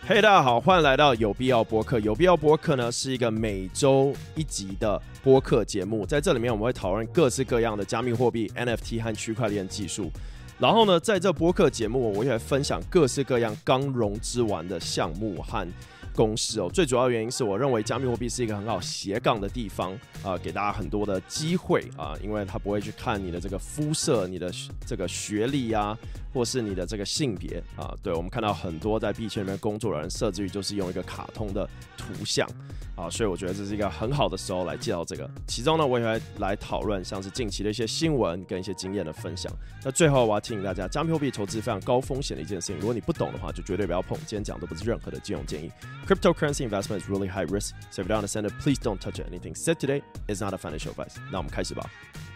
嘿、大家好，歡迎來到有必要播客。有必要播客呢是一個每周一集的播客節目，在這裡面我們會討論各式各樣的加密貨幣、NFT 和區塊鏈技術。然後呢，在這播客節目我也會分享各式各樣剛融資完的項目和公司哦。最主要的原因是我認為加密貨幣是一個很好斜槓的地方給大家很多的機會因為它不會去看你的這個膚色、你的這個學歷啊，或是你的這個性別對，我們看到很多在幣圈裡面工作的人，設置於就是用一個卡通的圖像所以我覺得這是一個很好的時候來介紹這個。其中呢，我也會來討論像是近期的一些新聞跟一些經驗的分享。那最後我要提醒大家，加密貨幣投資非常高風險的一件事情，如果你不懂的話，就絕對不要碰。今天講的不是任何的金融建議。Cryptocurrency investment is really high risk, so if you don't understand it, please don't touch it. Anything said today is not a financial advice. 那我們開始吧。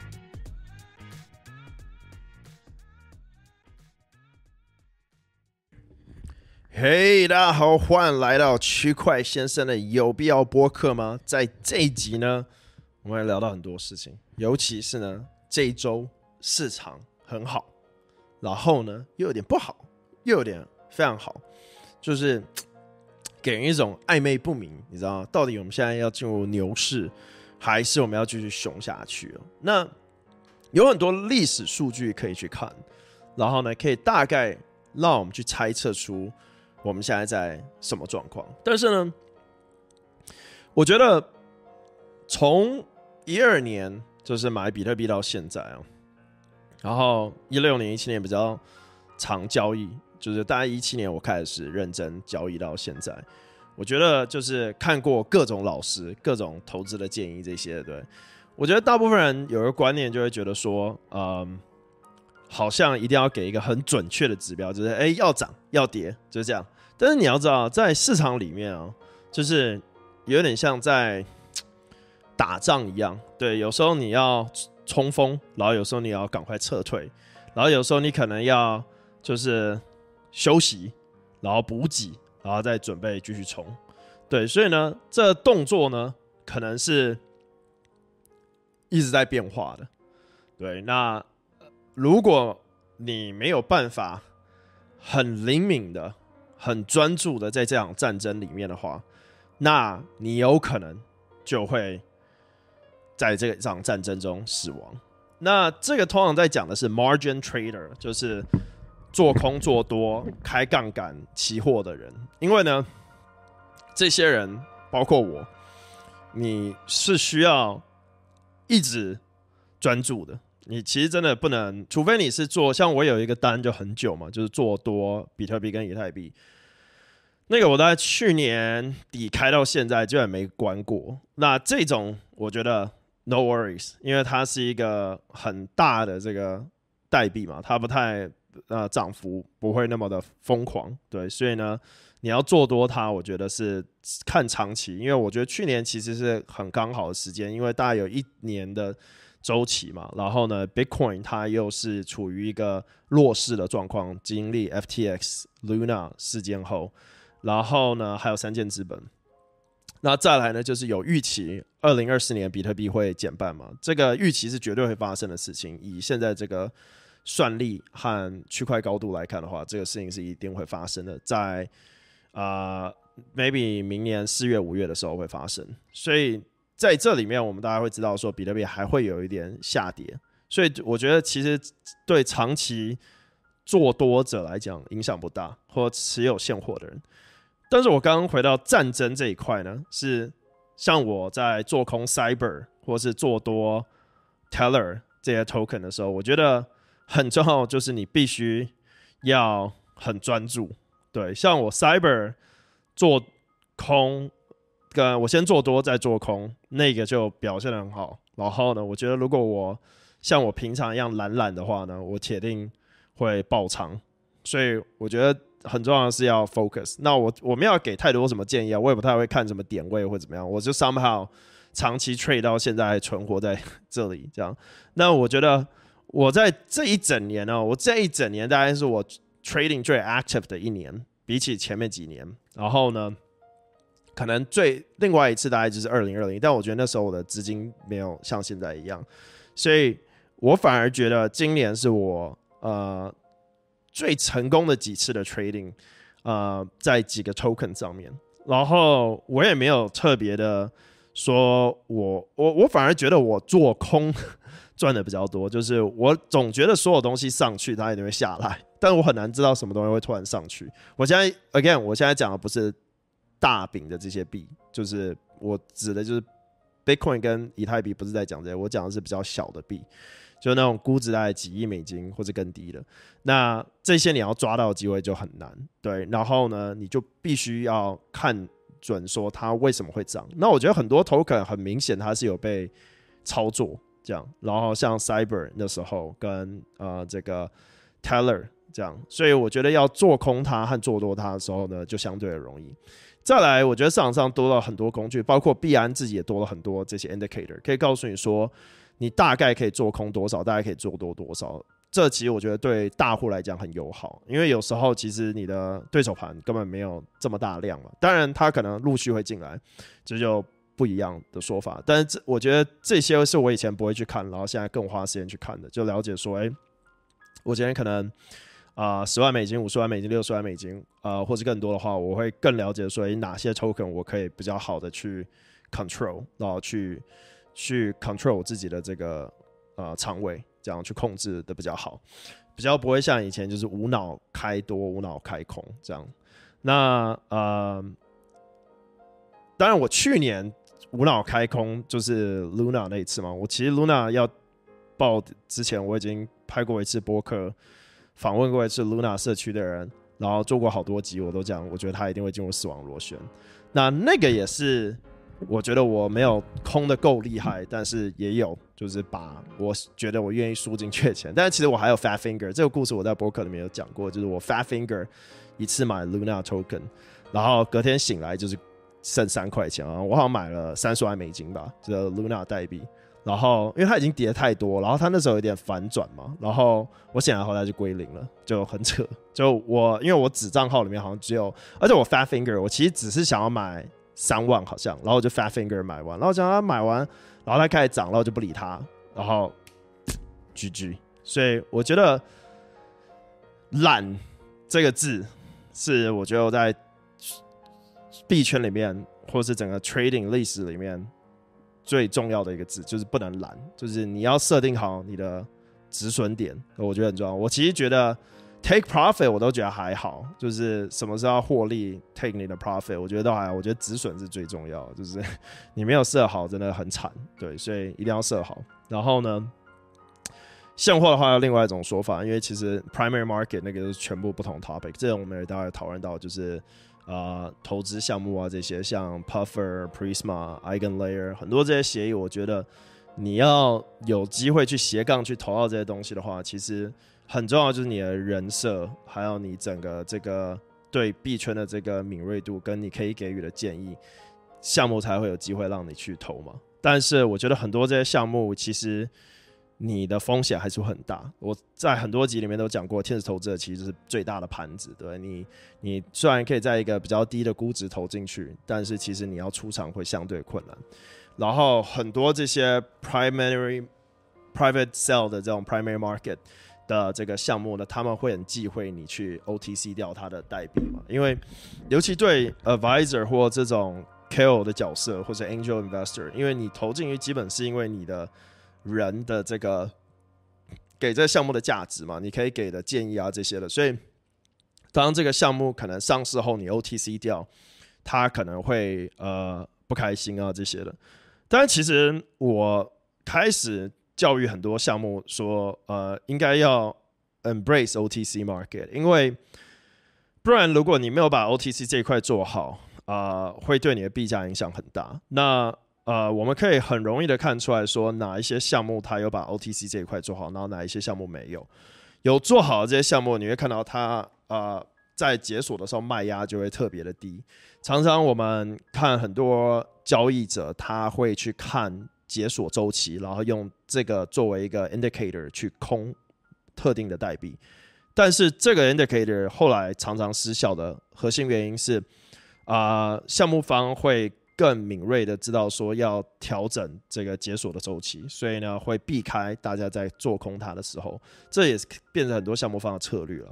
嘿、大家好，歡迎來到區塊先生的有必要播客嗎？在這一集呢，我們會聊到很多事情，尤其是呢，這一周市場很好，然後呢又有點不好，又有點非常好，就是給人一種曖昧不明，你知道嗎？到底我們現在要進入牛市，還是我們要繼續熊下去那有很多歷史數據可以去看，然後呢，可以大概讓我們去猜測出我們現在在什麼狀況。但是呢，我覺得從12年就是買比特幣到現在然後16年、17年比較常交易，就是大概17年我開始認真交易到現在。我覺得就是看過各種老師、各種投資的建議這些，對，我覺得大部分人有一個觀念就會覺得說，好像一定要給一個很準確的指標，就是要漲要跌，就是這樣。但是你要知道，在市場裡面就是有點像在打仗一樣，对，有時候你要衝鋒，然後有时候你要趕快撤退，然後有時候你可能要就是休息，然後補給，然後再準備繼續衝。對，所以呢，這動作呢可能是一直在变化的。對，那如果你沒有辦法很靈敏的、很專注的在這場戰爭裡面的話，那你有可能就會在這場戰爭中死亡。那這個通常在講的是 margin trader， 就是做空做多、開槓桿期貨的人。因為呢，這些人包括我，你是需要一直專注的。你其實真的不能，除非你是做像我有一個單就很久嘛，就是做多比特幣跟以太幣。那個我大概去年底開到現在就也沒關過。那這種我覺得 no worries， 因為它是一個很大的這個代幣嘛，它不太漲幅不會那麼的瘋狂，對，所以呢，你要做多它，我覺得是看長期，因為我覺得去年其實是很剛好的時間，因為大概有1年的週期嘛，然後呢 ，Bitcoin 它又是處於一個弱勢的狀況，經歷 FTX、Luna 事件後，然後呢還有三箭資本，那再來呢就是有預期2024年比特幣會減半嘛，這個預期是絕對會發生的事情，以現在這個算力和區塊高度來看的話，這個事情是一定會發生的，在maybe 明年4月、5月的時候會發生，所以在這裡面我們大家會知道說比特幣還會有一點下跌，所以我覺得其實對長期做多者來講影響不大，或持有現貨的人。但是我剛剛回到戰爭這一塊呢，是像我在做空 Cyber 或是做多 Tether 這些 token 的時候，我覺得很重要，就是你必須要很專注。对，像我 Cyber 做空，跟我先做多再做空，那個就表現得很好。然後呢，我覺得如果我像我平常一樣懶的話呢，我鐵定會爆倉。所以我覺得很重要的是要 focus。那我沒有給太多什麼建議我也不太會看什麼點位或怎麼樣，我就 somehow 長期 trade 到現在還存活在這裡這樣。那我覺得我在這一整年我這一整年大概是我trading 最 active 的一年，比起前面幾年。然後呢，可能另外一次大概就是2020，但我覺得那時候我的資金沒有像現在一樣，所以我反而覺得今年是我最成功的幾次的 trading。 在幾個 token 上面，然後我也沒有特別的說我反而覺得我做空賺的比較多，就是我總覺得所有東西上去它一定會下來，但我很難知道什麼東西會突然上去。我現在講的不是大餅的這些幣，就是我指的就是 Bitcoin 跟以太幣，不是在講這些，我講的是比較小的幣，就是那種估值大概幾億美金或者更低的。那這些你要抓到的機會就很難，對。然後呢，你就必須要看準說它為什麼會漲。那我覺得很多 token 很明顯它是有被操作這樣，然後像 Cyber 那時候跟這個 Teller 這樣，所以我覺得要做空它和做多它的時候呢，就相對的容易。再來，我覺得市場上多了很多工具，包括幣安自己也多了很多這些 indicator， 可以告訴你說你大概可以做空多少，大概可以做多多少。這其實我覺得對大戶來講很友好，因為有時候其實你的對手盤根本沒有這麼大量嘛，當然它可能陸續會進來，這就不一樣的說法。但是我覺得這些是我以前不會去看，然後現在更花時間去看的，就了解說，我今天可能10萬美金、50萬美金、60萬美金，或者更多的話，我會更了解說，哪些 token 我可以比較好的去 control， 然後去 control 我自己的這個倉位，這樣去控制的比較好，比較不會像以前就是無腦開多、無腦開空這樣。那當然我去年無腦開空就是 Luna 那一次嘛，我其實 Luna 要爆之前，我已經拍過一次播客。訪問過一次 Luna 社區的人，然後做過好多集，我都講，我覺得他一定會進入死亡螺旋。那個也是，我覺得我沒有空的夠厲害，但是也有，就是把我覺得我願意輸進去的錢。但是其實我還有 Fat Finger 這個故事，我在播客裡面有講過，就是我 Fat Finger 一次買 Luna Token， 然後隔天醒來就是剩3塊錢啊，我好像買了30萬美金吧，這個 Luna 代幣。然後，因為它已經跌太多，然後它那時候有點反轉嘛，然後我醒來後來就歸零了，就很扯。就因為我子賬號裡面好像只有，而且我 Fat Finger 我其實只是想要買3萬好像，然後我就 Fat Finger 買完，然後想他買完，然後它開始漲，然後就不理它，然後 GG。所以我覺得懶這個字是我覺得我在幣圈裡面或是整個 trading 歷史裡面最重要的一個字，就是不能懶，就是你要設定好你的止損點，我覺得很重要。我其實覺得 take profit 我都覺得還好，就是什麼時候要獲利 take 你的 profit 我覺得都還好，我覺得止損是最重要的，就是你沒有設好真的很慘，對，所以一定要設好。然後呢，現貨的話有另外一種說法，因為其實 primary market 那個就是全部不同 topic， 這種我們也大概討論到，就是投資項目啊，這些像 Puffer、Prisma、Eigenlayer 很多這些協議，我覺得你要有機會去斜槓去投到這些東西的話，其實很重要，就是你的人設，還有你整個這個對幣圈的這個敏銳度，跟你可以給予的建議，項目才會有機會讓你去投嘛。但是我覺得很多這些項目其實你的風險還是會很大。我在很多集裡面都講過，天使投資者其實是最大的盤子，對，你雖然可以在一個比較低的估值投進去，但是其實你要出場會相對困難。然後很多這些 private sell 的這種 primary market 的這個項目呢，他們會很忌諱你去 OTC 掉它的代幣嘛，因為尤其對 advisor 或這種 KOL 的角色或者 angel investor， 因為你投進去基本是因為你的人的這個給這個項目的價值嘛，你可以給的建議啊這些的，所以當這個項目可能上市後你 OTC 掉，他可能會不開心啊這些的。但其實我開始教育很多項目說，應該要 embrace OTC market， 因為不然如果你沒有把 OTC 這一塊做好，會對你的幣價影響很大。那我們可以很容易的看出來說，哪一些項目它有把 OTC 這一塊做好，然後哪一些項目沒有。有做好的這些項目，你會看到它在解鎖的時候賣壓就會特別的低。常常我們看很多交易者，他會去看解鎖週期，然後用這個作為一個 indicator 去空特定的代幣。但是這個 indicator 後來常常失效的核心原因是，項目方會更敏銳的知道說要調整這個解鎖的週期，所以呢會避開大家在做空它的時候，這也是變成很多項目方的策略了。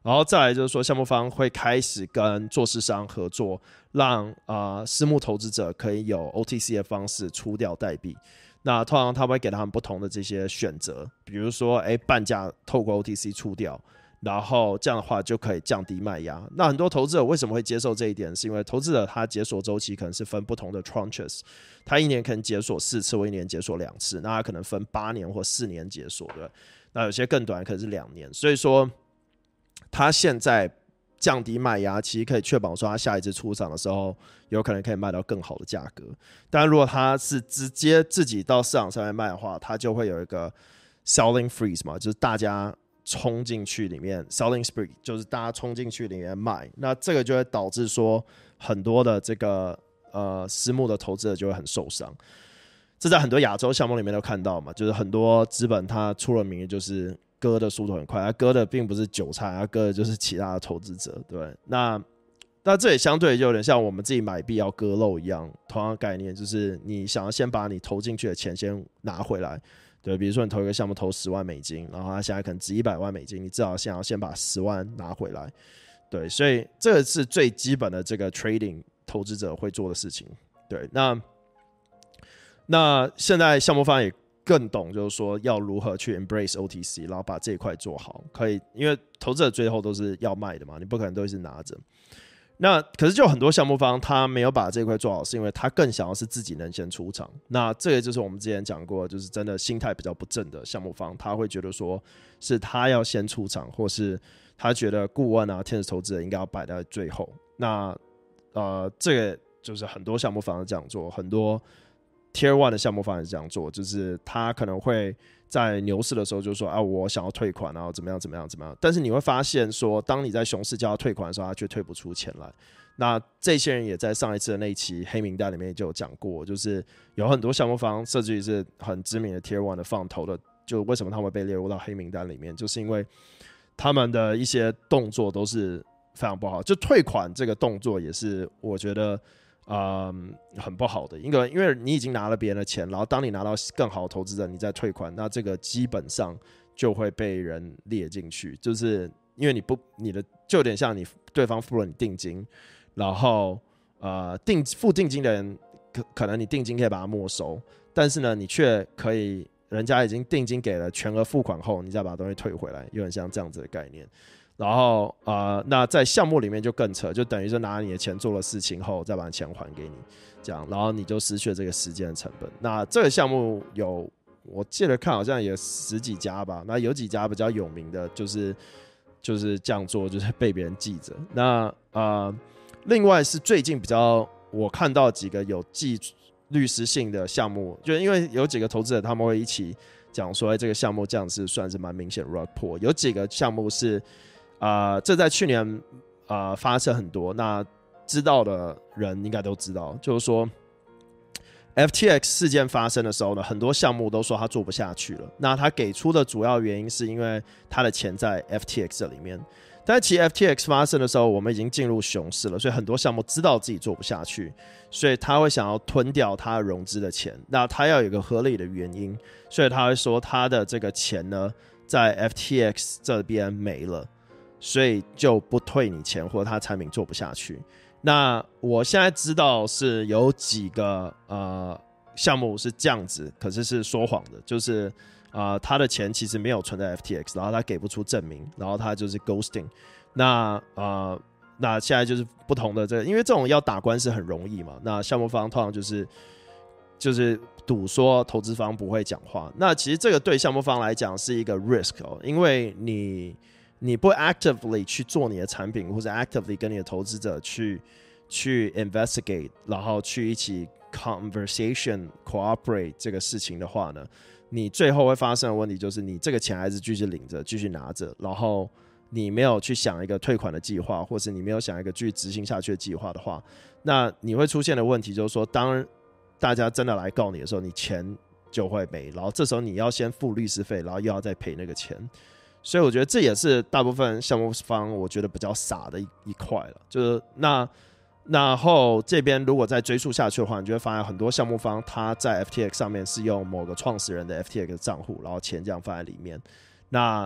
然後再來就是說，項目方會開始跟做市商合作，讓私募投資者可以有 OTC 的方式出掉代幣。那通常他會給他們不同的這些選擇，比如說半價透過 OTC 出掉，然後這樣的話就可以降低賣壓。那很多投資者為什麼會接受這一點？是因為投資者他解鎖週期可能是分不同的 tranches， 他一年可能解鎖4次，或一年解鎖2次，那他可能分8年或4年解鎖，對。那有些更短，可能是2年。所以說，他現在降低賣壓，其實可以確保說他下一次出場的時候，有可能可以賣到更好的價格。但如果他是直接自己到市場上面賣的話，他就會有一個 selling freeze 嘛，就是大家衝進去裡面 selling spree， 就是大家衝進去裡面賣。那這個就會導致說很多的這個私募的投資者就會很受傷。這在很多亞洲項目裡面都看到嘛，就是很多資本它出了名的就是割的速度很快，它割的並不是韭菜，它割的就是其他的投資者，對。那這也相對就有點像我們自己買幣要割肉一樣，同樣的概念，就是你想要先把你投進去的錢先拿回來，對。比如說你投一個項目投10萬美金，然後它現在可能值100萬美金，你至少想要先把10萬拿回來，對。所以這個是最基本的這個 trading 投資者會做的事情，對。那現在項目方也更懂，就是說要如何去 embrace OTC， 然後把這一塊做好，可以，因為投資者最後都是要賣的嘛，你不可能都一直拿着。那可是就很多項目方他沒有把這一塊做好，是因為他更想要是自己能先出場。那這個就是我們之前講過，就是真的心態比較不正的項目方，他會覺得說是他要先出場，或是他覺得顧問啊、天使投資者應該要擺在最後。那這個就是很多項目方是這樣做，很多 Tier 1 的項目方也是這樣做，就是他可能會在牛市的時候就說我想要退款，然後怎麼樣，但是你會發現說，當你在熊市叫他退款的時候，他卻退不出錢來。那這些人也在上一次的那一期黑名單裡面就有講過，就是有很多項目方，甚至於是很知名的 Tier 1 的放投的，就為什麼他們被列入到黑名單裡面，就是因為他們的一些動作都是非常不好，就退款這個動作也是我覺得很不好的，因為你已經拿了別人的錢，然後當你拿到更好的投資者，你再退款，那這個基本上就會被人列進去，就是因為你的就有點像你對方付了你定金，然後付定金的人可能你定金可以把它沒收，但是呢你卻可以人家已經定金給了，全額付款後，你再把東西退回來，有點像這樣子的概念。然後那在項目裡面就更扯，就等於是拿你的錢做了事情後，再把錢還給你，這樣，然後你就失去了這個時間的成本。那這個項目有，我記得看好像有10幾家吧，那有幾家比較有名的，就是這樣做，就是被別人記着。那另外是最近比較我看到幾個有記律師性的項目，就因為有幾個投資者他們會一起講說，這個項目這樣是算是蠻明顯的 rug pull， 有幾個項目是。這在去年發生很多，那知道的人應該都知道，就是說 FTX 事件發生的時候呢，很多項目都說他做不下去了。那他給出的主要原因是因為他的錢在 FTX 這裡面，但其實 FTX 發生的時候，我們已經進入熊市了，所以很多項目知道自己做不下去，所以他會想要吞掉他融資的錢。那他要有一個合理的原因，所以他會說他的這個錢呢，在 FTX 這邊沒了。所以就不退你錢，或者他產品做不下去。那我現在知道是有幾個項目是這樣子，可是是說謊的，就是他的錢其實沒有存在 FTX， 然後他給不出證明，然後他就是 ghosting。那現在就是不同的因為這種要打官司很容易嘛，那項目方通常就是賭說投資方不會講話。那其實這個對項目方來講是一個 risk 因為你不 actively 去做你的產品，或者 actively 跟你的投資者去 investigate， 然後去一起 conversation cooperate 這個事情的話呢，你最後會發生的問題就是你這個錢還是繼續領着，繼續拿着，然後你沒有去想一個退款的計劃，或是你沒有想一個繼續執行下去的計劃的話，那你會出現的問題就是說，當大家真的來告你的時候，你錢就會沒，然後這時候你要先付律師費，然後又要再賠那個錢。所以我覺得這也是大部分項目方我覺得比較傻的一塊了，就是然後這邊如果再追溯下去的話，你就會發現很多項目方他在 FTX 上面是用某個創始人的 FTX 賬戶，然後錢這樣放在裡面。那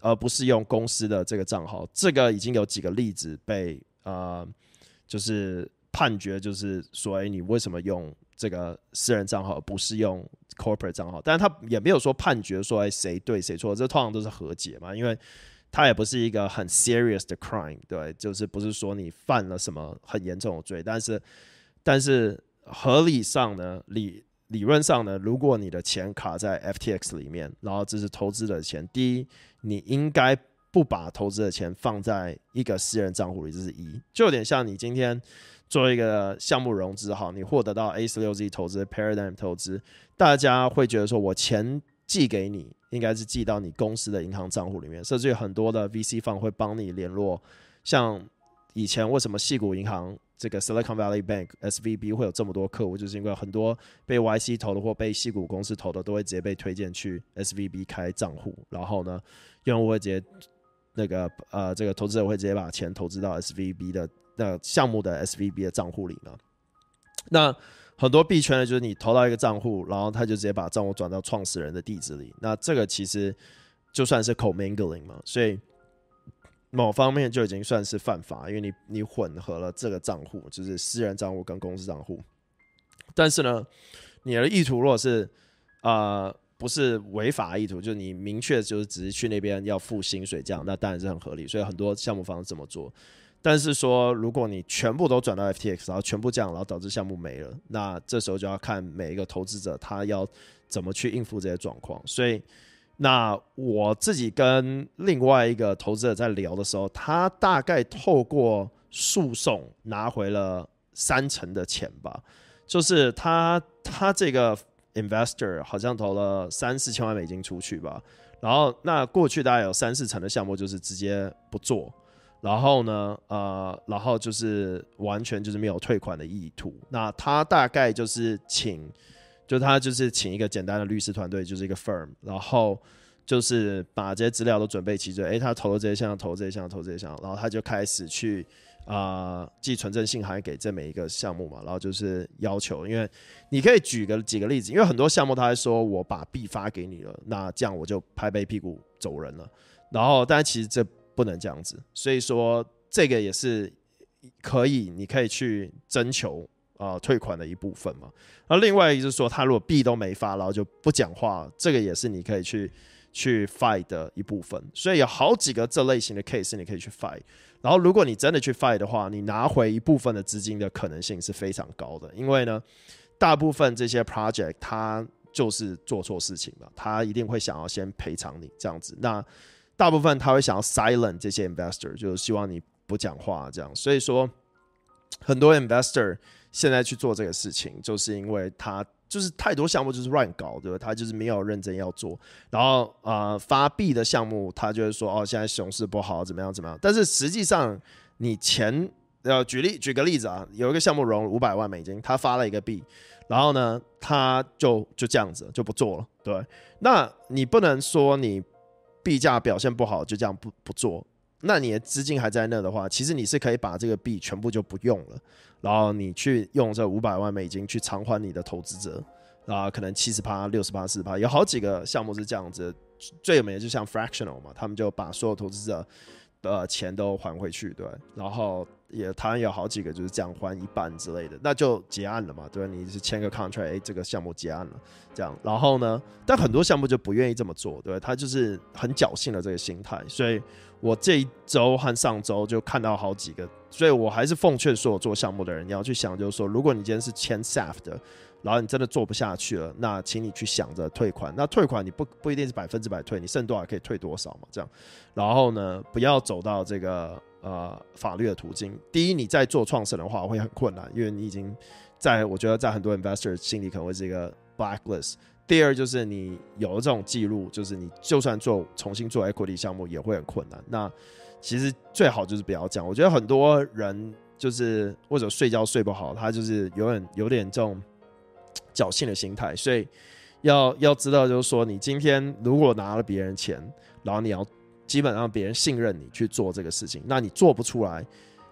而不是用公司的這個賬號。這個已經有幾個例子被就是判決，就是說，你為什麼用這個私人賬號而不是用 corporate 賬號？但是他也沒有說判決說誰對誰錯，這通常都是和解嘛，因為它也不是一個很 serious 的 crime， 對，就是不是說你犯了什麼很嚴重的罪，但是合理上呢，理論上呢，如果你的錢卡在 FTX 裡面，然後這是投資的錢，第一，你應該不把投資的錢放在一個私人賬戶裡，這是一，就有點像你今天做一個項目融資，好，你獲得到 A16Z 投資、Paradigm 投資，大家會覺得說我錢寄給你，應該是寄到你公司的銀行賬戶裡面，甚至有很多的 VC fund 會幫你聯絡，像以前為什麼矽谷銀行這個 Silicon Valley Bank SVB 會有這麼多客戶，就是因為很多被 YC 投的或被矽谷公司投的都會直接被推薦去 SVB 開賬戶，然後呢，用戶會直接這個投資者會直接把錢投資到 SVB 的項目的 SVB 的賬戶裡嘛。那很多幣圈呢，就是你投到一個賬戶，然後他就直接把賬戶轉到創始人的地址裡。那這個其實就算是 commingling 嘛，所以某方面就已經算是犯法，因為你混合了這個賬戶，就是私人賬戶跟公司賬戶。但是呢，你的意圖如果是不是違法意圖，就是你明確就是只是去那邊要付薪水這樣，那當然是很合理。所以很多項目方這麼做。但是說，如果你全部都轉到 FTX， 然後全部這樣，然後導致項目沒了，那這時候就要看每一個投資者他要怎麼去應付這些狀況。所以，那我自己跟另外一個投資者在聊的時候，他大概透過訴訟拿回了30%的錢吧，就是他這個 investor 好像投了3-4千萬美金出去吧，然後那過去大概有3-4成的項目就是直接不做。然後呢，然後就是完全就是沒有退款的意圖。那他大概就是他就是請一個簡單的律師團隊，就是一個 firm， 然後就是把這些資料都準備齊全。他投了這些項，投這些項，投這些項，然後他就開始去寄存證信函給這每一個項目嘛，然後就是要求，因為你可以舉幾個例子，因為很多項目他還說我把幣發給你了，那這樣我就拍拍屁股走人了。然後，但其實這不能這樣子，所以說這個也是你可以去徵求退款的一部分嘛。然後另外一個就是說，他如果幣都沒發，然後就不講話，這個也是你可以去 fight 的一部分。所以有好幾個這類型的 case 你可以去 fight。然後如果你真的去 fight 的話，你拿回一部分的資金的可能性是非常高的，因為呢，大部分這些 project 他就是做錯事情嘛，他一定會想要先賠償你這樣子。那大部分他會想要 silent 這些 investor， 就是希望你不講話這樣。所以說，很多 investor 現在去做這個事情，就是因為他就是太多項目就是亂搞，對吧？他就是沒有認真要做。然後發幣的項目，他就會說現在熊市不好，怎麼樣。但是實際上，你錢舉個例子啊，有一個項目融500萬美金，他發了一個幣，然後呢，他就這樣子就不做了，對。那你不能說你幣價表現不好就這樣不做，那你的資金還在那的話，其實你是可以把這個幣全部就不用了，然後你去用這500萬美金去償還你的投資者，可能 70%、60%、40%，有好幾個項目是這樣子。最有名的就像 Fractional 嘛，他們就把所有投資者的錢都還回去，對，然後台灣有好幾個就是這樣還一半之類的，那就結案了嘛，對，你是簽個 contract，這個項目結案了，這樣，然後呢，但很多項目就不願意這麼做，對，他就是很僥倖的這個心態，所以我這一周和上周就看到好幾個，所以我還是奉勸所有做項目的人，你要去想，就是說，如果你今天是簽 SAF 的，然後你真的做不下去了，那請你去想着退款。那退款你不一定是100%退，你剩多少可以退多少嘛，這樣。然後呢，不要走到這個法律的途徑。第一，你在做創始人的話會很困難，因為你已經我覺得在很多 investor 心裡可能會是一個 blacklist。第二就是你有了這種記錄，就是你就算重新做 equity 項目也會很困難。那其實最好就是不要這樣。我覺得很多人就是或者睡覺睡不好，他就是有點這種僥倖的心態，所以要知道，就是說，你今天如果拿了別人錢，然後你要基本上別人信任你去做這個事情，那你做不出來，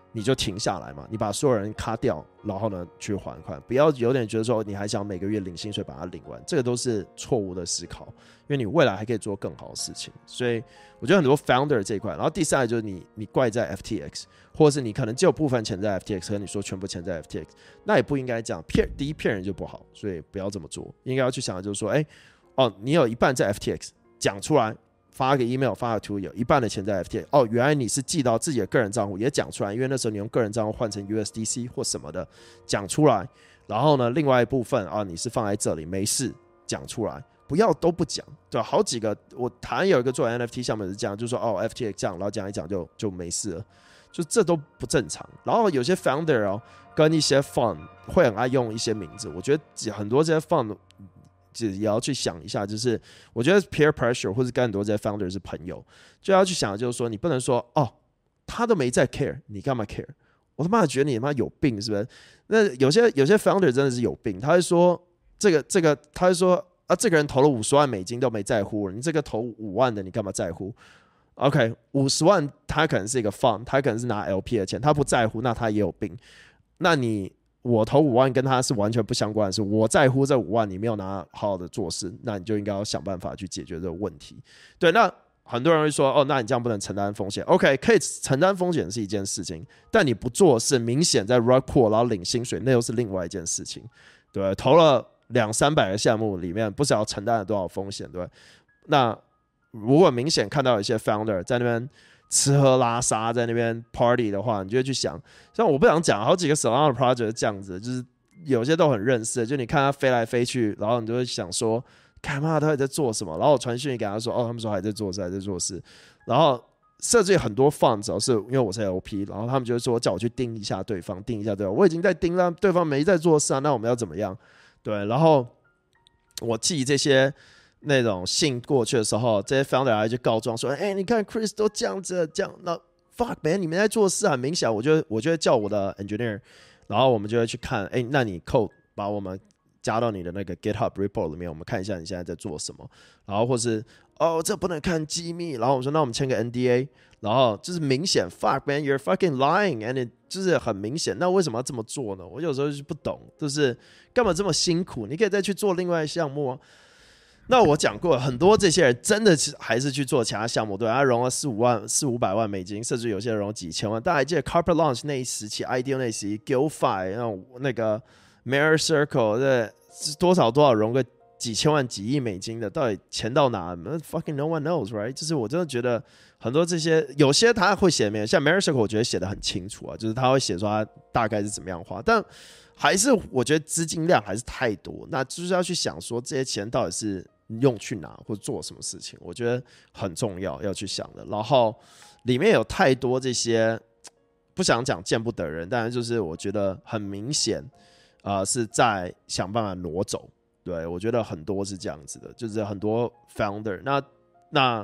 你就停下來嘛，你把所有人卡掉，然後呢去還款，不要有點覺得說你還想每個月領薪水把它領完，這個都是錯誤的思考，因為你未來還可以做更好的事情。所以我覺得很多 founder 這一塊，然後第三個就是你怪在 FTX， 或者是你可能只有部分錢在 FTX， 和你說全部錢在 FTX， 那也不應該這樣，第一騙人就不好，所以不要這麼做，應該要去想的就是說，你有一半在 FTX， 講出來。發個 email 發個圖，有一半的錢在 FTX， 原來你是寄到自己的個人賬戶，也講出來，因為那時候你用個人賬戶換成 USDC 或什麼的，講出來。然後呢，另外一部分你是放在這裡，沒事講出來，不要都不講。對，好幾個我台灣有一個做 NFT 項目是這樣，就是說FTX 這樣，然後講一講就沒事了，就這都不正常。然後有些 founder 跟一些 fund 會很愛用一些名字，我覺得很多這些 fund。也要去想一下，就是我覺得 peer pressure 或是跟很多這些 founder 是朋友，就要去想，就是說你不能說他都沒在 care， 你幹嘛 care？ 我他媽覺得你他媽有病是不是？那有些 founder 真的是有病，他會說他會說這個人投了50萬美金都沒在乎，你這個投5萬的你幹嘛在乎 ？OK， 50萬他可能是一個 fund， 他可能是拿 LP 的錢，他不在乎，那他也有病。那我投5萬跟他是完全不相關的事，我在乎這5萬，你沒有拿好好的做事，那你就應該要想辦法去解決這個問題。對，那很多人會說，那你這樣不能承擔風險。OK， 可以承擔風險是一件事情，但你不做是明顯在 rug pull 然後領薪水，那又是另外一件事情。對，投了200-300個項目裡面，不知道承擔了多少風險，對。那如果明顯看到一些 founder 在那邊吃喝拉撒在那邊 party 的話，你就會去想，像我不想講好幾個 Solana project 是這樣子，就是有些都很認識，就你看他飛來飛去，然後你就會想說，幹嘛他還在做什麼？然後我傳訊息給他說，他們說還在做事，還在做事。然後設置很多 funds 是因為我是 LP， 然後他們就會說叫我去盯一下對方，盯一下對方，我已經在盯了，對方沒在做事啊，那我們要怎麼樣？對，然後我寄這些那種信過去的時候，這些 founder 還去告狀說，你看 Chris 都這樣子，這樣那 fuck man， 你們在做事很明顯，我就會叫我的 engineer， 然後我們就會去看，那你 code 把我們加到你的那個 GitHub report 裡面，我們看一下你現在在做什麼，然後或是這不能看機密，然後我說那我們簽個 NDA， 然後就是明顯 fuck man you're fucking lying，and it 就是很明顯，那為什麼要這麼做呢？我有時候就不懂，就是幹嘛這麼辛苦？你可以再去做另外一項目啊。那我講過，很多這些人真的還是去做其他項目，對，他融了400-500萬美金，甚至有些人融幾千萬。大家還記得 Carpet Launch 那一時期 ，IDO 那一時期 ，GillFi 那個 Mirror Circle 這多少融個幾千萬、幾億美金的，到底錢到哪 ？Fucking no one knows, right？ 就是我真的覺得很多這些，有些他會寫沒有，像 Mirror Circle 我覺得寫得很清楚啊，就是他會寫說他大概是怎麼樣花，但還是我覺得資金量還是太多，那就是要去想說這些錢到底是用去哪或者做什麼事情，我覺得很重要要去想的。然後裡面有太多這些不想講見不得人，但是就是我覺得很明顯，是在想辦法挪走。對，我覺得很多是這樣子的，就是很多 founder， 那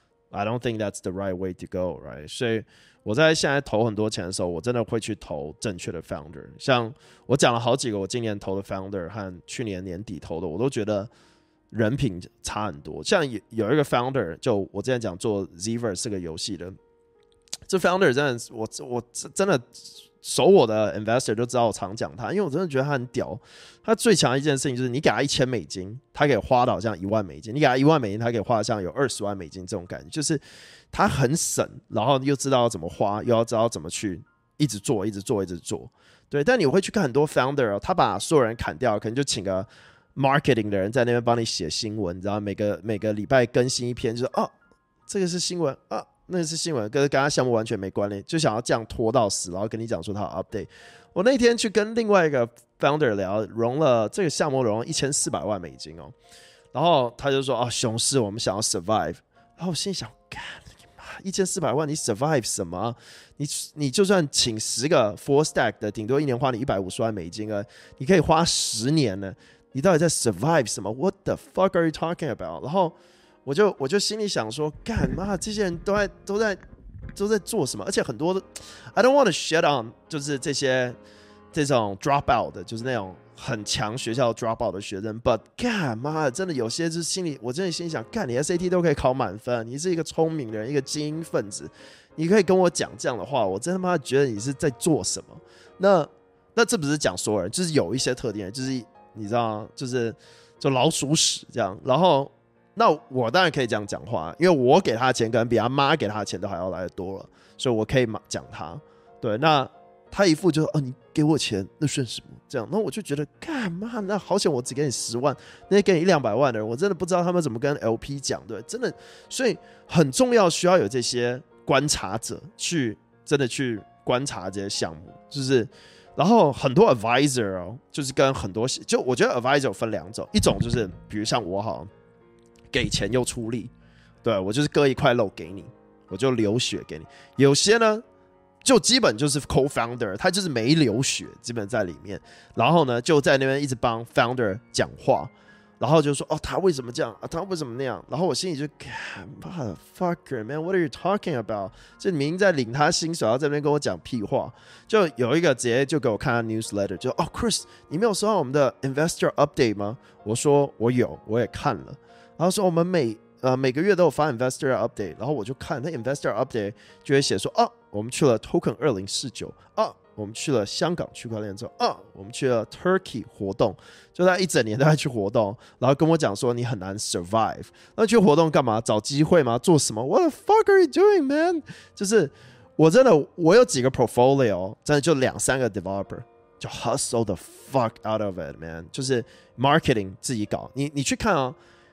I don't think that's the right way to go, right？ 所以我在現在投很多錢的時候，我真的會去投正確的 founder。像我講了好幾個我今年投的 founder 和去年年底投的，我都覺得人品差很多。像有一個 founder， 就我之前講做 Zverse 這個遊戲的，這 founder 真的，我真的熟我的 investor 都知道我常講他，因為我真的覺得他很屌。他最強的一件事情就是，你給他1000美金，他可以花到像1萬美金；你給他1萬美金，他可以花到像有20萬美金這種感覺，就是他很省，然後又知道要怎麼花，又要知道怎麼去一直做。对，但你會去看很多 founder， 他把所有人砍掉，可能就請個 marketing 的人在那邊幫你寫新聞，你知道每個禮拜更新一篇，就是這個是新聞啊。那是新聞，跟他項目完全沒關聯，就想要這樣拖到死，然後跟你講說他有 update。我那天去跟另外一個 founder 聊，融了這個項目融了1400萬美金哦，然後他就說熊市我們想要 survive， 然後我心裡想，1400萬你 survive 什麼？你就算請10個 full stack 的，頂多1年花你150萬美金啊，你可以花10年呢，你到底在 survive 什麼 ？What the fuck are you talking about？ 然後我就心裡想說，幹嘛這些人都在做什麼？而且很多的 I don't want to shit on， 就是這些這種 drop out 的，就是那種很強學校 drop out 的學生 ，but 幹媽的，真的有些就是我真的心裡想，幹你 SAT 都可以考滿分，你是一個聰明人，一個精英分子，你可以跟我講這樣的話，我真他媽覺得你是在做什麼？那這不是講所有人，就是有一些特定人，就是你知道，就老鼠屎這樣。然後，那我當然可以這樣講話，因為我給他的錢可能比他媽給他的錢都還要來得多了，所以我可以講他。對，那他一副就是你給我錢，那算什麼？這樣，那我就覺得幹嘛？那好險，我只給你10萬，那些給你100-200萬的人，我真的不知道他們怎麼跟 LP 講，對，真的，所以很重要，需要有這些觀察者去真的去觀察這些項目，就是。然後很多 advisor 就是跟很多，就我覺得 advisor 分2種，一種就是比如像我好，給錢又出力，對，我就是割一塊肉給你，我就流血給你。有些呢，就基本就是 co-founder， 他就是沒流血，基本在裡面，然後呢就在那邊一直幫 founder 講話。然後就說他為什麼這樣啊？他為什麼那樣？然後我心裡就，motherfucker man，what are you talking about？ 就你明明在領他薪水，然後在那邊跟我講屁話。就有一個直接就給我看他 newsletter， 就Chris， 你沒有收到我們的 investor update 嗎？我說我有，我也看了。然後說我們每個月都有發 investor update， 然後我就看那 investor update 就會寫說我們去了 Token 2049我們去了香港區塊鏈之後我們去了 Turkey 活動，就他一整年都在去活動，然後跟我講說你很難 survive。那去活動幹嘛？找機會嗎？做什麼 ？What the fuck are you doing, man？ 就是我有幾個 portfolio， 真的就2-3個 developer， 就 hustle the fuck out of it, man。就是 marketing 自己搞。你去看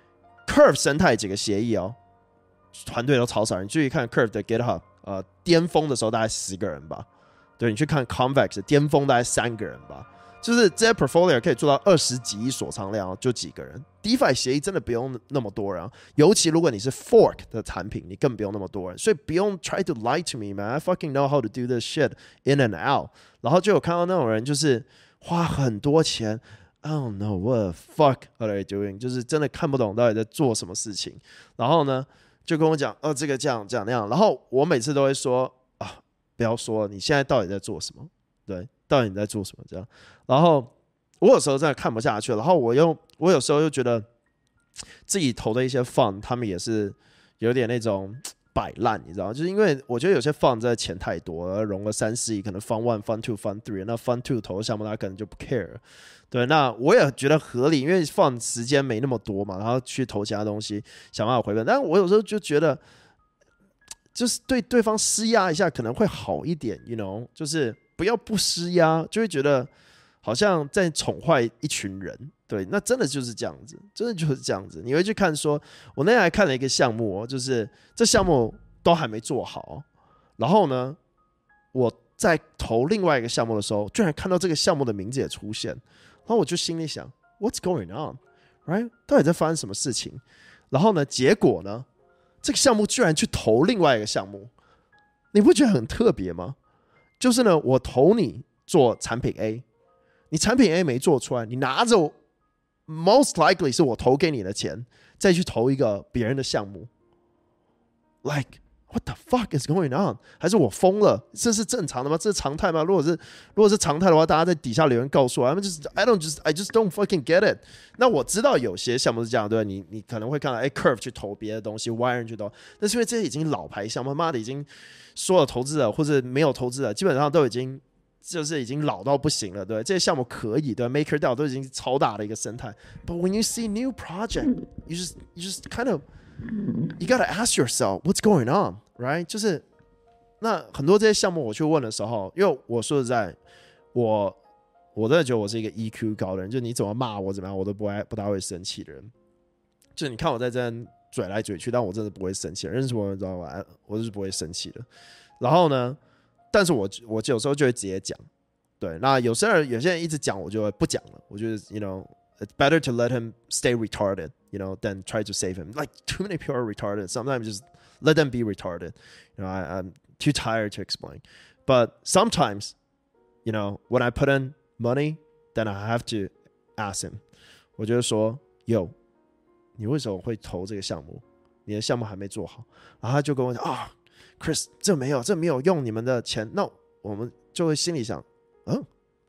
Curve 生態幾個協議團隊都超少人。你注意看 Curve 的 GitHub， 巔峰的時候大概10個人吧。對，你去看 Convex 巔峰大概3個人吧，就是這些 portfolio 可以做到20幾億鎖倉量，就幾個人。DeFi 協議真的不用那麼多人，尤其如果你是 fork 的產品，你更不用那麼多人。所以不用 try to lie to me, man. I fucking know how to do this shit in and out. 然後就有看到那種人，就是花很多錢 ，I don't know what the fuck are they doing， 就是真的看不懂到底在做什麼事情。然後呢，就跟我講，這個這樣那樣。然後我每次都會說。不要說了，你現在到底在做什麼？對，到底你在做什麼？這樣，然後我有時候真的看不下去了，然後我有時候又覺得自己投的一些 fund， 他們也是有點那種擺爛，你知道嗎？就是因為我覺得有些 fund 真的錢太多，融了3-4億，可能 fund 1、fund 2、fund 3，那 fund 2投的項目他可能就不 care。對，那我也覺得合理，因為 fund 時間沒那麼多嘛，然後去投其他東西，想辦法回本。但我有時候就覺得。就是對對方施壓一下可能會好一點 ，you know， 就是不要不施壓，就會覺得好像在寵壞一群人。對，那真的就是這樣子，真的就是這樣子。你會去看說，我那天還看了一個項目就是這項目都還沒做好，然後呢，我在投另外一個項目的時候，居然看到這個項目的名字也出現，然後我就心裡想 ，What's going on？ Right？ 到底在發生什麼事情？然後呢，結果呢？這個項目居然去投另外一個項目，你不覺得很特別嗎？就是呢，我投你做產品 A， 你產品 A 沒做出來，你拿着 most likely 是我投給你的錢，再去投一個別人的項目 ，like what the fuck is going on？ 還是我瘋了？這是正常的嗎？這是常態嗎？如果是常態的話，大家在底下留言告訴我。I just don't fucking get it。那我知道有些項目是這樣，對吧？你可能會看到Curve 去投別的東西 ，Wire 去投，但是因為這些已經老牌項目，媽的已經所有投資者或者沒有投資者，基本上都已經老到不行了，對，這些項目可以，對 ，MakerDAO 都已經超大的一個生態。But when you see new project, you just kind of you gotta ask yourself what's going on, right？ 就是那很多這些項目我去問的時候，因為我說實在，我真的覺得我是一個 EQ 高的人，就你怎麼罵我怎麼樣，我都不大會生氣的人。就你看我在這邊嘴來嘴去，但我真的不會生氣，認識我知道吧？我就是不會生氣的。然後呢，但是我有時候就會直接講，對。那有些人一直講，我就會不講了。我覺得 you know it's better to let him stay retarded, you know, than try to save him. Like too many people are retarded. Sometimes just let them be retarded. You know, I'm too tired to explain. But sometimes, you know, when I put in money, then I have to ask him. 我就說 ，Yo， 你為什麼會投這個項目？你的項目還沒做好。然後他就跟我講Chris， 這沒有用你們的錢。那我們就會心裡想，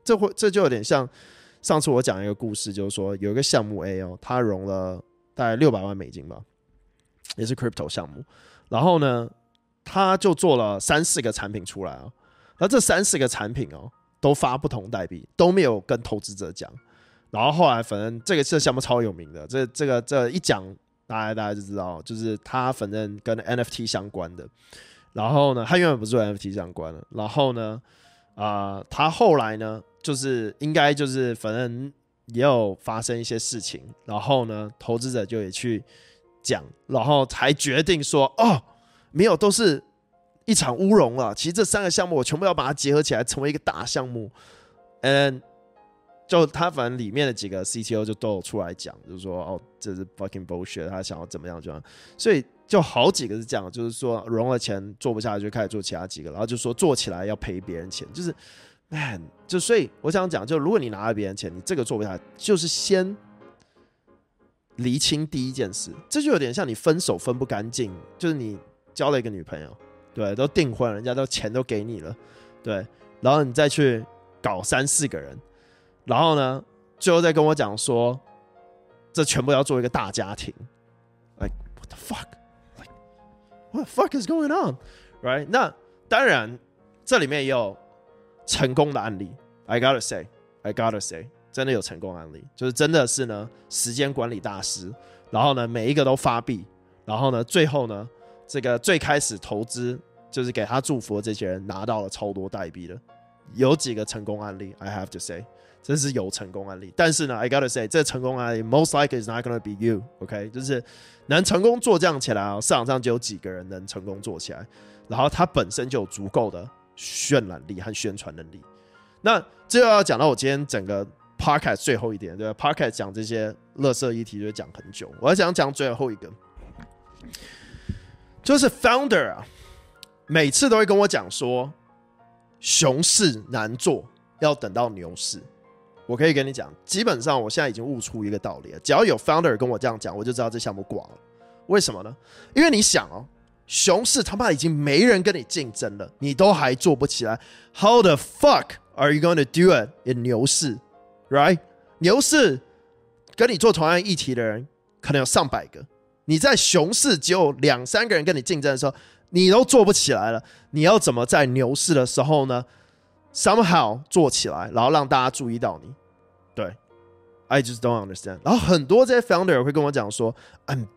這就有點像上次我講一個故事，就是說有一個項目 A 哦，他融了大概$600萬吧，也是 crypto 項目，然後呢，他就做了3-4個產品出來哦，然後這3-4個產品哦，都發不同代幣，都沒有跟投資者講，然後後來反正這項目超有名的，這一講大家就知道，就是他反正跟 NFT 相關的。然後呢，他原本不是做 NFT 相關的。然後呢，他後來呢，就是應該就是反正也有發生一些事情。然後呢，投資者就也去講，然後才決定說，哦，沒有，都是一場烏龍了。其實這3個項目我全部要把它結合起來，成為一個大項目。就他反正裡面的幾個 CTO 就都有出來講，就是說，哦，這是 fucking bullshit， 他想要怎麼樣就這樣。所以就好幾個是這樣，就是說融了錢做不下去，就開始做其他幾個，然後就說做起來要賠別人錢，就是 man， 就所以我想講，就如果你拿了別人錢，你這個做不下去，就是先釐清第一件事，這就有點像你分手分不乾淨，就是你交了一個女朋友，對，都訂婚了，人家都錢都給你了，對，然後你再去搞3-4個人。然後呢，最後再跟我講說，這全部要做一個大家庭 ，like what the fuck， like what the fuck is going on， right？ 那當然，這裡面也有成功的案例 ，I gotta say， 真的有成功案例，就是真的是呢，時間管理大師，然後呢，每一個都發幣，然後呢，最後呢，這個最開始投資就是給他祝福的這些人拿到了超多代幣的，有幾個成功案例 ，I have to say。真是有成功案例，但是呢 ，I gotta say， 這成功案例 most likely is not gonna be you，OK？ 就是能成功做這樣起來啊，市場上就有幾個人能成功做起來，然後他本身就有足夠的渲染力和宣傳能力。那這又要講到我今天整個 podcast 最後一點，對吧 ？podcast 講這些垃圾議題就會講很久，我要講最後一個，就是 founder 啊，每次都會跟我講說，熊市難做，要等到牛市。我可以跟你講，基本上我現在已經悟出一個道理了，只要有 founder 跟我這樣講，我就知道這項目掛了。為什麼呢？因為你想哦，熊市他媽已經沒人跟你競爭了，你都還做不起來 ，How the fuck are you going to do it in 牛市 ？Right？ 牛市跟你做同樣議題的人可能有上百個，你在熊市只有2-3個人跟你競爭的時候，你都做不起來了，你要怎麼在牛市的時候呢？Somehow 做起來，然後讓大家注意到你。对 ，I just don't understand。然後很多這些 founder 會跟我講說 ，I'm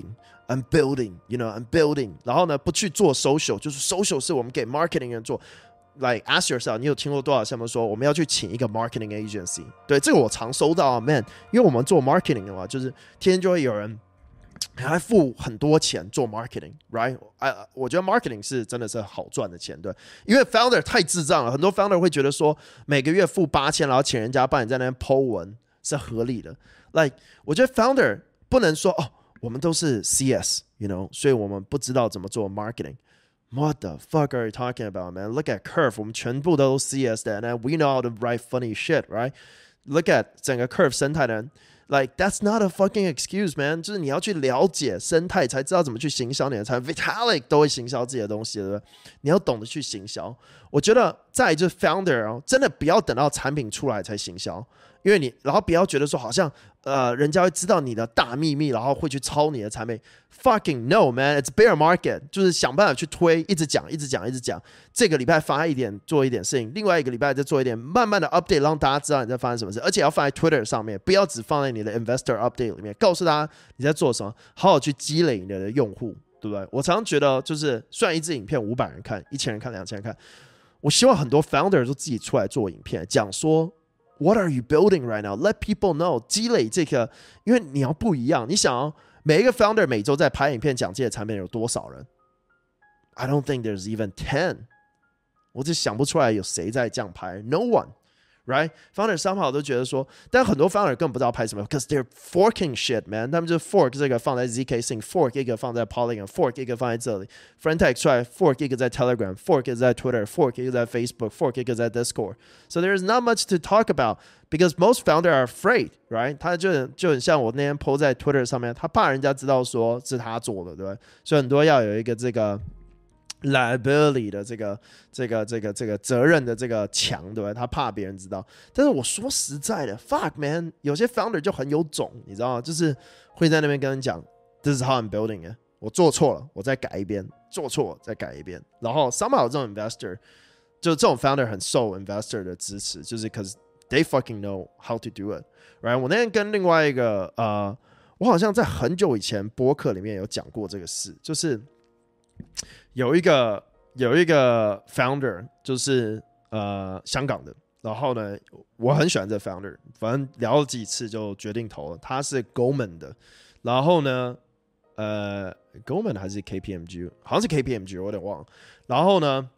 building，you know, I'm building。然後呢，不去做 social， 就是 social 是我們給 marketing 人做。Like ask yourself， 你有聽過多少項目說我們要去請一個 marketing agency？ 對，這個我常收到啊 ，man。因為我們做 marketing 的話，就是天天就會有人還付很多錢做 marketing，right？ 我覺得 marketing 是真的是好賺的錢，對，因為 founder 太智障了，很多 founder 會覺得說每個月付8000，然後請人家幫你在那邊 po 文是合理的。Like 我覺得 founder 不能說哦，我們都是 CS，you know， 所以我們不知道怎麼做 marketing。What the fuck are you talking about, man? Look at Curve， 我們全部都是 CS 的 ，and we know how to write funny shit, right? Look at 整個 Curve 生態的人。Like that's not a fucking excuse, man. 就是你要去了解生態，才知道怎麼去行銷你的產品。Vitalik 都會行銷自己的東西，對不對？你要懂得去行銷。我覺得再就是 founder 哦，真的不要等到產品出來才行銷，因為你然後不要覺得說好像人家會知道你的大秘密，然後會去抄你的產品。Fucking no, man. It's bear market. 就是想辦法去推，一直講。這個禮拜發一點，做一點事情；另外一個禮拜再做一點，慢慢的 update， 讓大家知道你在發生什麼事。而且要放在 Twitter 上面，不要只放在你的 investor update 裡面，告訴大家你在做什麼，好好去積累你的用戶，對不對？我常常覺得，就是雖然一支影片500人看、1000人看、2000人看，我希望很多 founder 都自己出來做影片，講說 What are you building right now? Let people know， 積累這個，因為你要不一樣。你想哦，每一個 founder 每周在拍影片講這些產品有多少人 ？I don't think there's even 10。我就想不出來有誰在這樣拍 ，No one。Right? Founder somehow 都覺得說，但很多 founder 根本不知道拍什麼 ，because they're forking shit, man。他們就 fork 這個放在 ZK Sync，fork 一個放在 Polygon，fork 一個放在這裡 ，Friendtech 出來 fork 一個在 Telegram，fork 一個在 Twitter，fork 一個在 Facebook，fork 一個在 Discord。So there's not much to talk about because most founder are afraid, right？ 他就很像我那天 po 在 Twitter 上面，他怕人家知道說是他做的，對吧？所以很多要有一個這個 liability 的這個責任的這個牆，對不對？他怕別人知道。但是我說實在的 ，fuck man， 有些 founder 就很有種，你知道嗎？就是會在那邊跟人講 ，this is how I'm building it， 我做錯了，我再改一遍，做錯了再改一遍。然後 somehow 這種 investor， 就這種 founder 很受 investor 的支持，就是 cause they fucking know how to do it，right？ 我那天跟另外一個我好像在很久以前播客裡面有講過這個事，就是有一個 founder， 就是香港的，然後呢，我很喜歡這個 founder， 反正聊了幾次就決定投了。他是 Goldman 的，然後呢，Goldman 還是 KPMG， 好像是 KPMG， 我有點忘了。然後呢，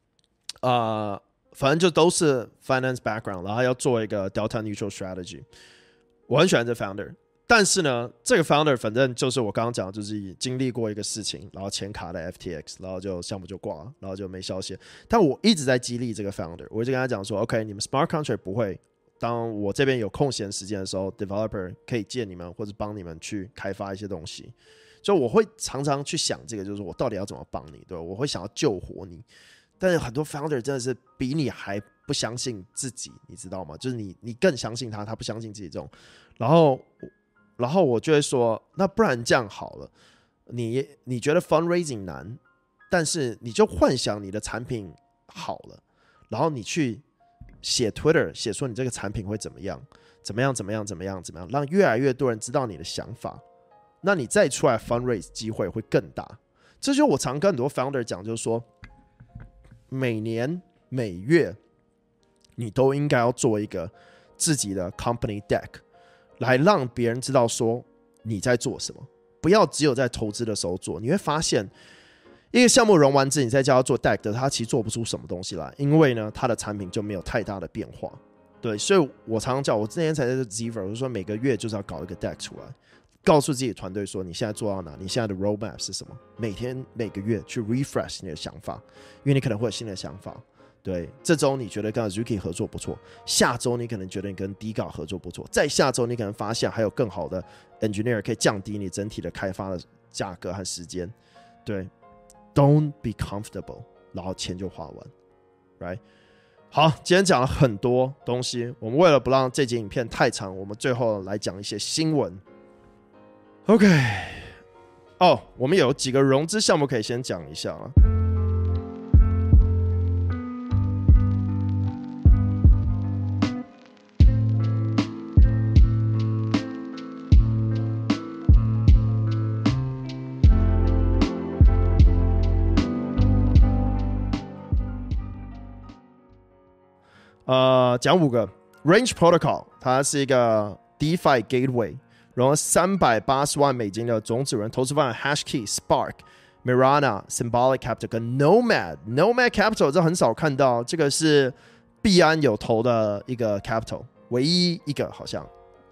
反正就都是 finance background， 然後要做一個 delta neutral strategy。我很喜歡這個 founder。但是呢，這個 founder 反正就是我剛剛講，就是經歷過一個事情，然後錢卡在 FTX， 然後就項目就掛了，然後就沒消息。但我一直在激勵這個 founder， 我一直跟他講說 ，OK， 你們 smart contract 不會，當我這邊有空閒時間的時候 ，developer 可以借你們或者幫你們去開發一些東西。就我會常常去想這個，就是我到底要怎麼幫你，對吧？我會想要救活你。但是很多 founder 真的是比你還不相信自己，你知道嗎？就是你更相信他，他不相信自己這種，然後我就會說，那不然這樣好了，你覺得 fundraising 難，但是你就幻想你的產品好了，然後你去寫 Twitter 寫說你這個產品會怎麼樣，讓越來越多人知道你的想法，那你再出來 fundraise 機會會更大。這就是我常跟很多 founder 講，就是說每年每月你都應該要做一個自己的 company deck。來讓別人知道說你在做什麼，不要只有在投資的時候做。你會發現，一個項目融完資，你再叫他做 deck 的，他其實做不出什麼東西來，因為呢，他的產品就沒有太大的變化。對，所以我常常叫我之前才在 Ziver， 我就說每個月就是要搞一個 deck 出來，告訴自己團隊說你現在做到哪，你現在的 roadmap 是什麼，每個月去 refresh 你的想法，因為你可能會有新的想法。對，這週你覺得跟 Azuki 合作不錯，下週你可能覺得你跟 Diga 合作不錯，再下週你可能發現還有更好的 engineer 可以降低你整體的開發的價格和時間。對 ，Don't be comfortable， 然後錢就花完 ，right？ 好，今天講了很多東西，我們為了不讓這集影片太長，我們最後來講一些新聞。OK， 我們有幾個融資項目可以先講一下啊。講5個 Range Protocol， 它是一個 DeFi Gateway， 融了$380萬的種子輪投資方案 Hashkey、Spark、Mirana、Symbolic Capital 跟 Nomad Capital， 這很少看到，這個是幣安有投的一個 Capital， 唯一一個好像。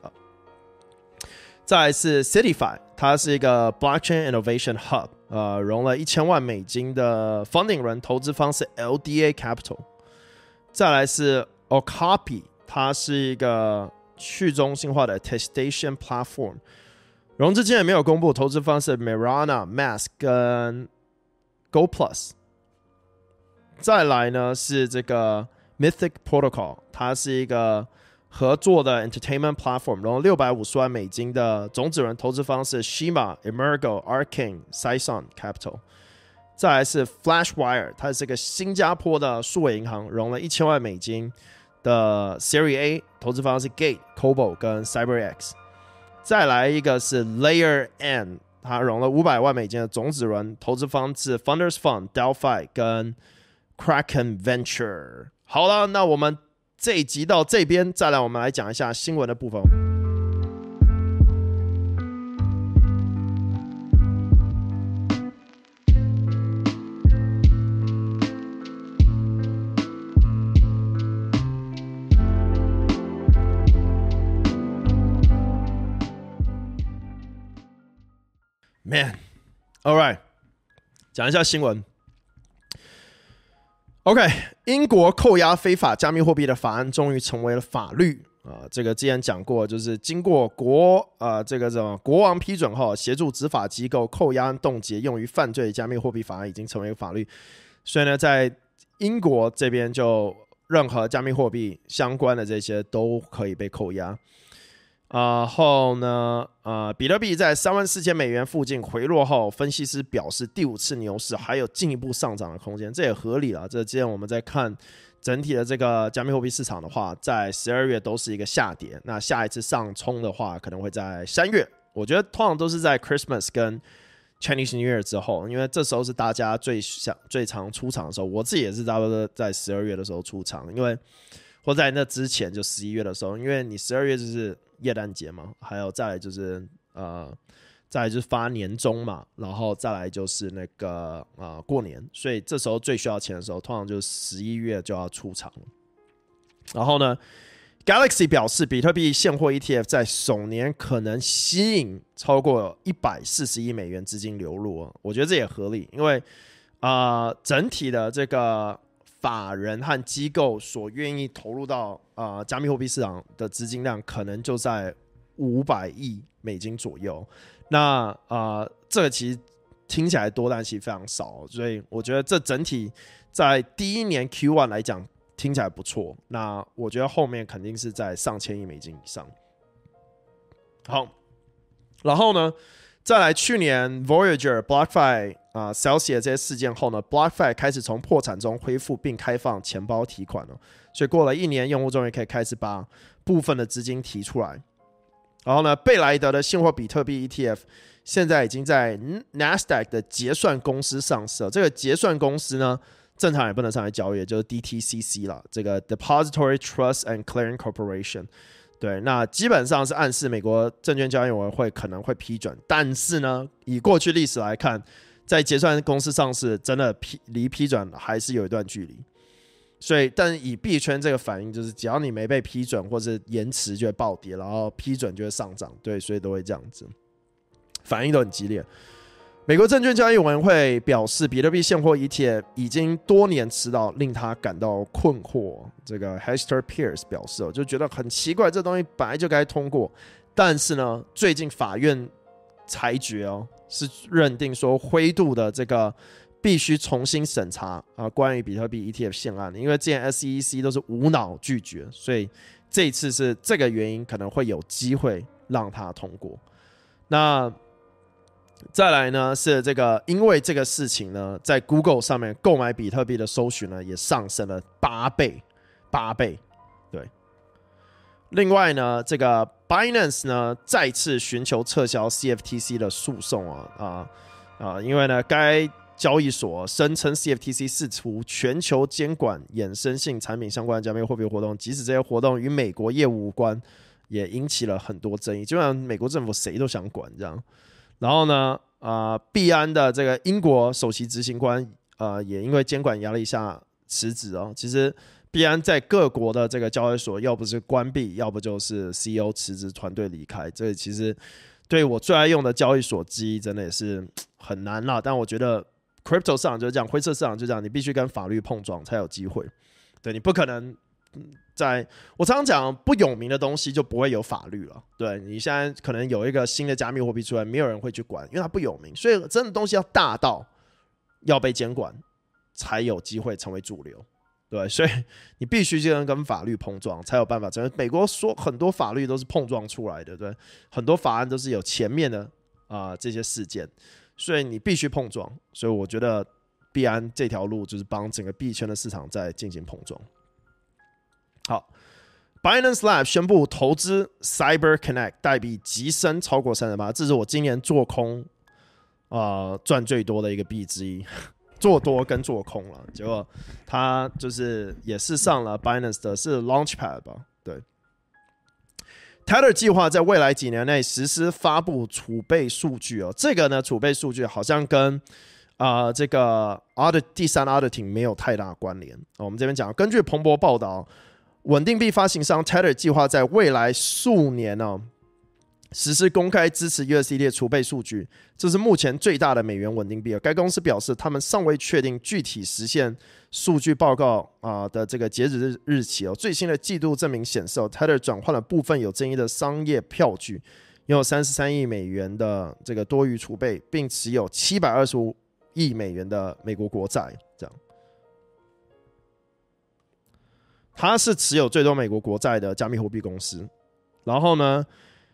再來是 Citify， 它是一個 Blockchain Innovation Hub， 融了$1000萬的 funding 輪投資方是 LDA Capital。再來是 Okapi， 它是一個去中心化的 attestation platform， 融資金額沒有公布，投資方是 Mirana、Mask 跟 GoPlus。再來呢是這個 Mythic Protocol， 它是一個合作的 entertainment platform， 融了$650萬的種子輪投資方是 Shima、Emergo、Arcane、Sison Capital。再來是 Flashwire， 它是個新加坡的數位銀行，融了$1000萬的 Series A， 投資方是 Gate、Kobo 跟 CyberX。再來一個是 Layer N， 它融了$500萬的種子輪，投資方是 Funders Fund、Delphi 跟 Kraken Venture。好了，那我們這一集到這邊，再來我們來講一下新聞的部分。Man, all right， 講一下新聞。OK， 英國扣押非法加密貨幣的法案終於成為了法律。 這個之前講過，就是經過這個國王批准後，協助執法機構扣押凍結用於犯罪加密貨幣法案已經成為一個法律。所以呢，在英國這邊就任何加密貨幣相關的這些都可以被扣押。後呢，比特幣在$34,000附近回落後，分析師表示第5次牛市還有進一步上漲的空間，這也合理了。這之前我們在看整體的這個加密貨幣市場的話，在12月都是一個下跌，那下一次上衝的話可能會在3月，我覺得通常都是在 Christmas 跟 Chinese New Year 之後，因為這時候是大家最常出場的時候，我自己也是差不多在12月的時候出場，因為或在那之前就11月的時候，因為你12月就是耶誕節嘛，還有再來就是再來就是發年終嘛，然後再來就是那個過年，所以這時候最需要錢的時候，通常就是11月就要出場了。然後呢 ，Galaxy 表示，比特幣現貨 ETF 在首年可能吸引超過$140億資金流入，我覺得這也合理，因為整體的這個法人和機構所願意投入到加密貨幣市場的資金量，可能就在$500億左右。那這個其實聽起來多，但其實非常少，所以我覺得這整體在第一年 Q1 來講聽起來不錯。那我覺得後面肯定是在上千億美金以上。好，然後呢，再來去年 Voyager、BlockFi、Celsius 這些事件後呢 ，BlockFi 開始從破產中恢復並開放錢包提款了，所以過了1年，用戶終於可以開始把部分的資金提出來。然後呢，貝萊德的現貨比特幣 ETF 現在已經在 Nasdaq 的結算公司上市了。這個結算公司呢，正常也不能上來交易，就是 DTCC 啦，這個 Depository Trust and Clearing Corporation。對，那基本上是暗示美國證券交易委員會可能會批准，但是呢，以過去歷史來看，在結算公司上市，真的離批准還是有一段距離。所以，但以幣圈這個反應，就是只要你沒被批准或是延遲，就會暴跌，然後批准就會上漲。對，所以都會這樣子，反應都很激烈。美國證券交易委員會表示，比特幣現貨 ETF 已經多年遲到，令他感到困惑。這個 Hester Pierce 表示，就覺得很奇怪，這東西本來就該通過，但是呢，最近法院裁決是認定說灰度的這個必須重新審查關於比特幣 ETF 現案，因為之前 SEC 都是無腦拒絕，所以這一次是這個原因，可能會有機會讓它通過。那再來呢是這個，因為這個事情呢，在 Google 上面購買比特幣的搜尋呢也上升了8倍。對，另外呢，這個 Binance 呢再次尋求撤銷 CFTC 的訴訟因為呢該交易所聲稱 CFTC 試圖全球監管衍生性產品相關的加密貨幣活動，即使這些活動與美國業務無關，也引起了很多爭議。基本上美國政府誰都想管這樣。然後呢，幣安的這個英國首席執行官也因為監管壓力下辭職。其實幣安在各國的這個交易所，要不是關閉，要不就是 CEO 辭職，團隊離開。這其實對我最愛用的交易所之一，真的也是很難啦。但我覺得 Crypto 市場就是這樣，灰色市場就是這樣，你必須跟法律碰撞才有機會。對，你不可能我常常講，不有名的東西就不會有法律了。對，你現在可能有一個新的加密貨幣出来，沒有人會去管，因為它不有名。所以真的東西要大到要被監管，才有機會成為主流。對，所以你必須就能跟法律碰撞，才有辦法。美國說很多法律都是碰撞出來的，对，很多法案都是有前面的這些事件。所以你必須碰撞，所以我覺得幣安這條路就是幫整個幣圈的市場在進行碰撞。好 ，Binance Lab 宣布投資 CyberConnect 代幣急升超過38%，這是我今年做空賺最多的一個幣之一，做多跟做空了。結果它就是也是上了 Binance 的是 Launchpad 吧，對。Tether 計劃在未來幾年內實施發布儲備數據這個呢，儲備數據好像跟這個第三 auditing 沒有太大關聯。我們這邊講，根據彭博報道，穩定幣發行商 Tether 計劃在未來數年實施公開支持 USDT 的儲備數據，這是目前最大的美元穩定幣。該公司表示，他們尚未確定具體實現數據報告的這個截止日期。最新的季度證明顯示，Tether 轉換了部分有爭議的商業票據，擁有33億美元的這個多餘儲備，並持有725億美元的美國國債。這樣，它是持有最多美國國債的加密貨幣公司。然後呢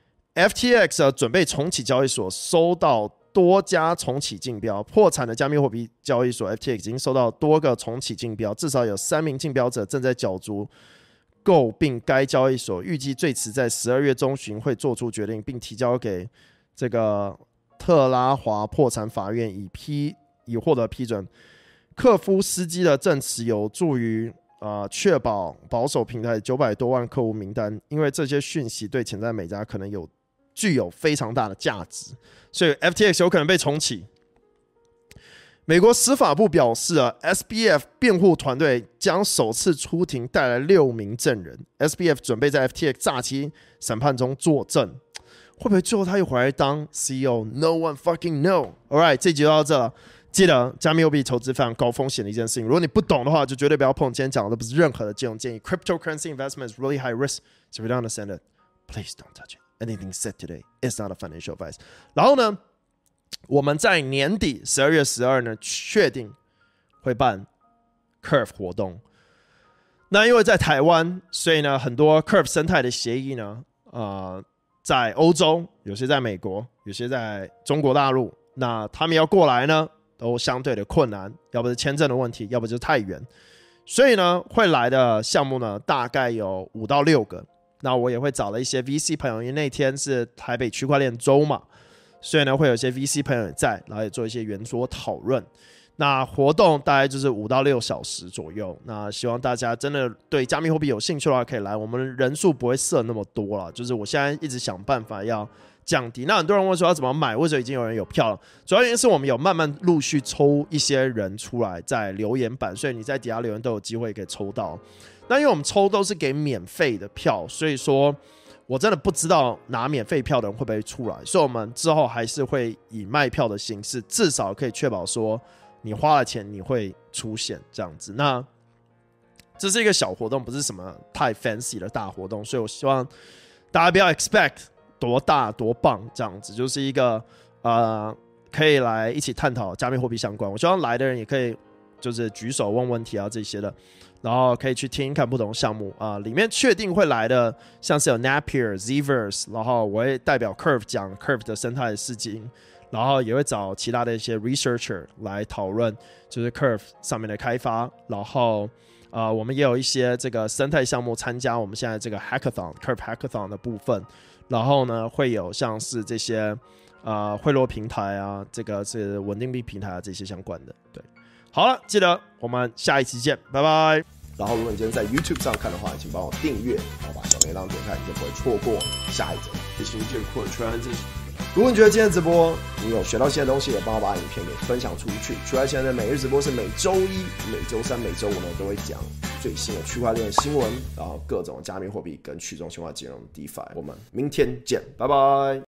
？FTX 準備重啟交易所，收到多家重啟競標。破產的加密貨幣交易所 FTX 已經收到多個重啟競標，至少有3名競標者正在角逐購併該交易所，預計最遲在12月中旬會做出決定，並提交給這個特拉華破產法院以獲得批准。克夫斯基的證詞有助於確保保守平台900多萬客戶名單，因為這些訊息對潛在買家可能具有非常大的價值，所以 FTX 有可能被重啟。美國司法部表示SBF 辯護團隊將首次出庭帶來6名證人。SBF 準備在 FTX 詐欺審判中作證，會不會最後他又回來當 CEO？ No one fucking know。Alright， 這集就到這了。記得加密貨幣投資非常高風險的一件事情，如果你不懂的話，就絕對不要碰。今天講的都不是任何的金融建議。Cryptocurrency investment is really high risk, so if you don't understand it, please don't touch it. Anything said today is not a financial advice. 然後呢，我們在年底12月12呢，確定會辦 Curve 活動。那因為在台灣，所以呢，很多 Curve 生態的協議呢，在歐洲，有些在美國，有些在中國大陸。那他們要過來呢，都相對的困難，要不是簽證的問題，要不就是太遠。所以呢，會來的項目呢，大概有5到6個。那我也會找了一些 VC 朋友，因為那天是台北區塊鏈週嘛，所以呢會有一些 VC 朋友也在，然後也做一些圓桌討論。那活動大概就是5到6小時左右。那希望大家真的對加密貨幣有興趣的話，可以來。我們人數不會設那麼多啦，就是我現在一直想辦法要降低。那很多人問說要怎麼買，為什麼已經有人有票了？主要原因是我們有慢慢陸續抽一些人出來在留言板，所以你在底下留言都有機會可以抽到。那因為我們抽都是給免費的票，所以說我真的不知道拿免費票的人會不會出來，所以我們之後還是會以賣票的形式，至少可以確保說你花了錢你會出現這樣子。那這是一個小活動，不是什麼太 fancy 的大活動，所以我希望大家不要 expect 多大多棒這樣子，就是一個可以來一起探討加密貨幣相關。我希望來的人也可以就是舉手問問題啊這些的。然後可以去聽看不同項目裡面確定會來的，像是有 Napier、Zverse， 然後我會代表 Curve 講 Curve 的生態的事情，然後也會找其他的一些 researcher 來討論，就是 Curve 上面的開發，然後我們也有一些這個生態項目參加我們現在這個 Hackathon Curve Hackathon 的部分，然後呢會有像是這些匯落平台啊，這個是穩定幣平台啊這些相關的，對。好了，記得我們下一期見，拜拜。 然後，如果你今天在 YouTube 上看的話，請幫我訂閱，然後把小鈴鐺點開，你就不會錯過下一集。如果你覺得今天的直播你有學到新的東西，也幫我把影片給分享出去。區塊鏈的每日直播是每周一、每周三、每周五呢都會講最新的區塊鏈新聞，然後各種加密貨幣跟去中心化金融 DeFi。我們明天見，拜拜。